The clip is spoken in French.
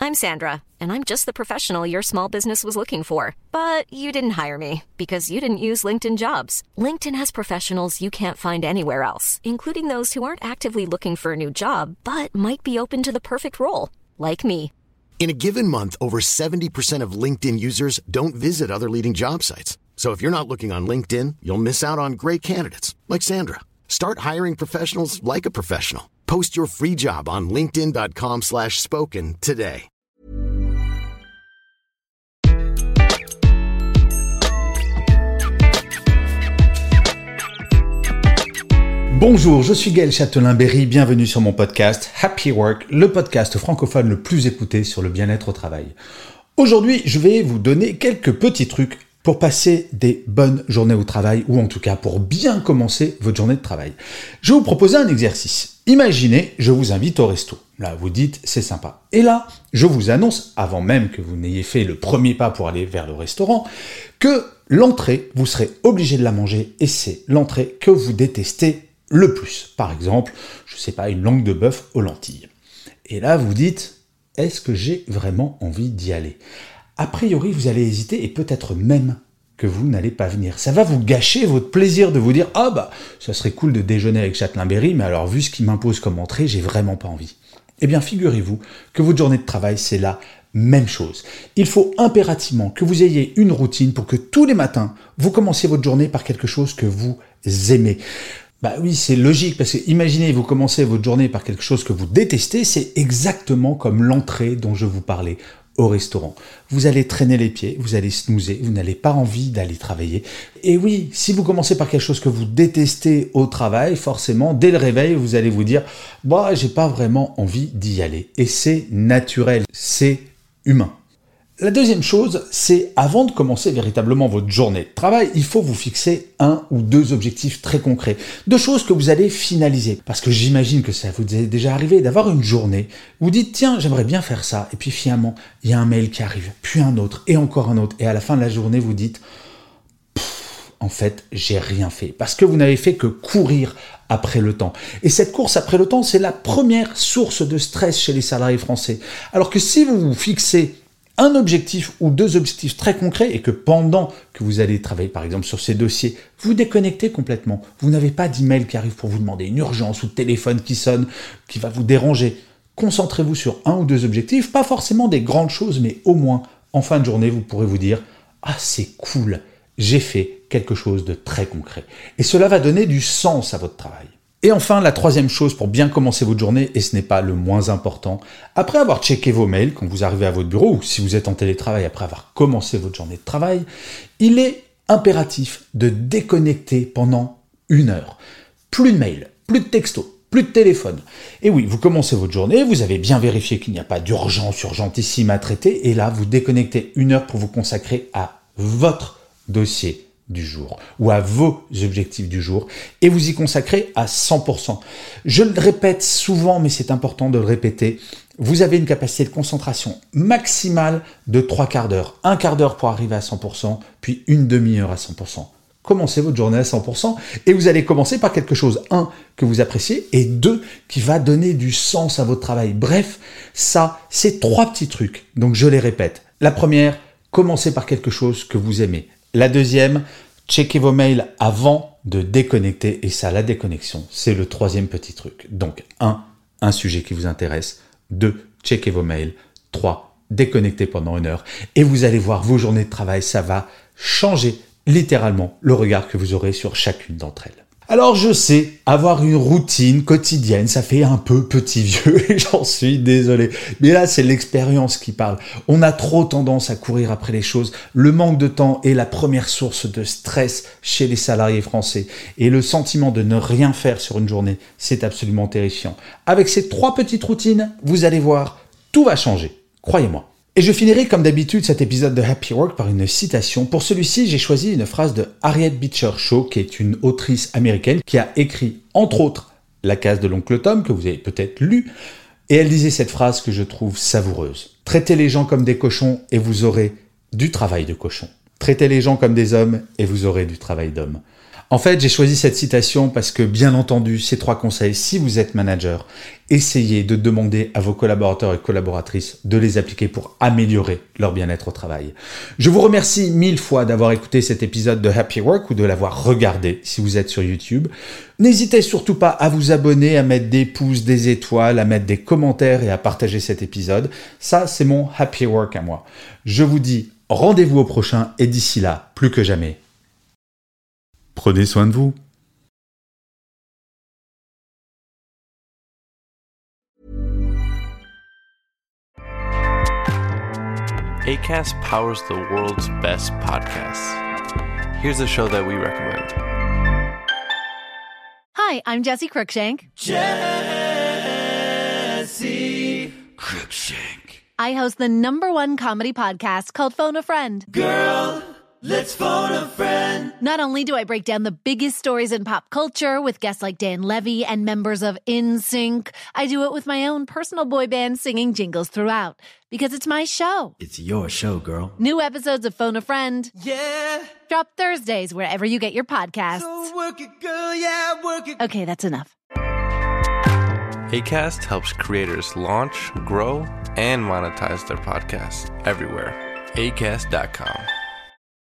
I'm Sandra, and I'm just the professional your small business was looking for. But you didn't hire me because you didn't use LinkedIn Jobs. LinkedIn has professionals you can't find anywhere else, including those who aren't actively looking for a new job, but might be open to the perfect role, like me. In a given month, over 70% of LinkedIn users don't visit other leading job sites. So if you're not looking on LinkedIn, you'll miss out on great candidates like Sandra. Start hiring professionals like a professional. Post your free job on linkedin.com/spoken today. Bonjour, je suis Gaël Châtelain-Berry, bienvenue sur mon podcast Happy Work, le podcast francophone le plus écouté sur le bien-être au travail. Aujourd'hui, je vais vous donner quelques petits trucs pour passer des bonnes journées au travail, ou en tout cas pour bien commencer votre journée de travail. Je vais vous proposer un exercice. Imaginez, je vous invite au resto. Là, vous dites, c'est sympa. Et là, je vous annonce, avant même que vous n'ayez fait le premier pas pour aller vers le restaurant, que l'entrée, vous serez obligé de la manger, et c'est l'entrée que vous détestez le plus. Par exemple, je sais pas, une langue de bœuf aux lentilles. Et là, vous dites, est-ce que j'ai vraiment envie d'y aller ? A priori, vous allez hésiter et peut-être même que vous n'allez pas venir. Ça va vous gâcher votre plaisir de vous dire « Ah bah, ça serait cool de déjeuner avec Châtelain-Berry, mais alors vu ce qu'il m'impose comme entrée, j'ai vraiment pas envie. » Eh bien, figurez-vous que votre journée de travail, c'est la même chose. Il faut impérativement que vous ayez une routine pour que tous les matins, vous commenciez votre journée par quelque chose que vous aimez. Bah oui, c'est logique, parce que imaginez, vous commencez votre journée par quelque chose que vous détestez, c'est exactement comme l'entrée dont je vous parlais au restaurant. Vous allez traîner les pieds, vous allez snoozer, vous n'avez pas envie d'aller travailler. Et oui, si vous commencez par quelque chose que vous détestez au travail, forcément, dès le réveil, vous allez vous dire « Bah, j'ai pas vraiment envie d'y aller ». Et c'est naturel, c'est humain. La deuxième chose, c'est avant de commencer véritablement votre journée de travail, il faut vous fixer un ou deux objectifs très concrets, de choses que vous allez finaliser. Parce que j'imagine que ça vous est déjà arrivé d'avoir une journée où vous dites tiens, j'aimerais bien faire ça, et puis finalement, il y a un mail qui arrive, puis un autre, et encore un autre, et à la fin de la journée, vous dites en fait, j'ai rien fait, parce que vous n'avez fait que courir après le temps. Et cette course après le temps, c'est la première source de stress chez les salariés français. Alors que si vous vous fixez un objectif ou deux objectifs très concrets et que pendant que vous allez travailler par exemple sur ces dossiers, vous déconnectez complètement. Vous n'avez pas d'email qui arrive pour vous demander une urgence ou de téléphone qui sonne, qui va vous déranger. Concentrez-vous sur un ou deux objectifs, pas forcément des grandes choses, mais au moins en fin de journée, vous pourrez vous dire « Ah, c'est cool, j'ai fait quelque chose de très concret. » Et cela va donner du sens à votre travail. Et enfin, la troisième chose pour bien commencer votre journée, et ce n'est pas le moins important, après avoir checké vos mails quand vous arrivez à votre bureau, ou si vous êtes en télétravail après avoir commencé votre journée de travail, il est impératif de déconnecter pendant 1 heure. Plus de mails, plus de textos, plus de téléphone. Et oui, vous commencez votre journée, vous avez bien vérifié qu'il n'y a pas d'urgence urgentissime à traiter, et là, vous déconnectez 1 heure pour vous consacrer à votre dossier du jour ou à vos objectifs du jour et vous y consacrez à 100%. Je le répète souvent, mais c'est important de le répéter, vous avez une capacité de concentration maximale de 3/4 d'heure. 1/4 d'heure pour arriver à 100%, puis une demi-heure à 100%. Commencez votre journée à 100% et vous allez commencer par quelque chose, 1, que vous appréciez et 2, qui va donner du sens à votre travail. Bref, ça, c'est 3 petits trucs. Donc je les répète. La première, commencez par quelque chose que vous aimez. La deuxième, checkez vos mails avant de déconnecter. Et ça, la déconnexion, c'est le 3e petit truc. Donc, 1, un sujet qui vous intéresse. 2, checkez vos mails. 3, déconnectez pendant 1 heure. Et vous allez voir vos journées de travail, ça va changer littéralement le regard que vous aurez sur chacune d'entre elles. Alors je sais, avoir une routine quotidienne, ça fait un peu petit vieux et j'en suis désolé. Mais là, c'est l'expérience qui parle. On a trop tendance à courir après les choses. Le manque de temps est la première source de stress chez les salariés français. Et le sentiment de ne rien faire sur une journée, c'est absolument terrifiant. Avec ces 3 petites routines, vous allez voir, tout va changer. Croyez-moi. Et je finirai comme d'habitude cet épisode de Happy Work par une citation. Pour celui-ci, j'ai choisi une phrase de Harriet Beecher Stowe, qui est une autrice américaine qui a écrit, entre autres, La case de l'oncle Tom, que vous avez peut-être lu. Et elle disait cette phrase que je trouve savoureuse. « Traitez les gens comme des cochons et vous aurez du travail de cochon. Traitez les gens comme des hommes et vous aurez du travail d'homme. » En fait, j'ai choisi cette citation parce que, bien entendu, ces 3 conseils, si vous êtes manager, essayez de demander à vos collaborateurs et collaboratrices de les appliquer pour améliorer leur bien-être au travail. Je vous remercie 1000 fois d'avoir écouté cet épisode de Happy Work ou de l'avoir regardé si vous êtes sur YouTube. N'hésitez surtout pas à vous abonner, à mettre des pouces, des étoiles, à mettre des commentaires et à partager cet épisode. Ça, c'est mon Happy Work à moi. Je vous dis rendez-vous au prochain et d'ici là, plus que jamais, prenez soin de vous. Acast powers the world's best podcasts. Here's a show that we recommend. Hi, I'm Jessie Cruikshank. Jessie Cruikshank. I host the #1 comedy podcast called Phone a Friend. Girl, let's phone a friend. Not only do I break down the biggest stories in pop culture with guests like Dan Levy and members of NSYNC, I do it with my own personal boy band singing jingles throughout. Because it's my show. It's your show, girl. New episodes of Phone a Friend Yeah. drop Thursdays wherever you get your podcasts. So work it, girl, yeah, work it. Okay, that's enough. Acast helps creators launch, grow, and monetize their podcasts everywhere. Acast.com.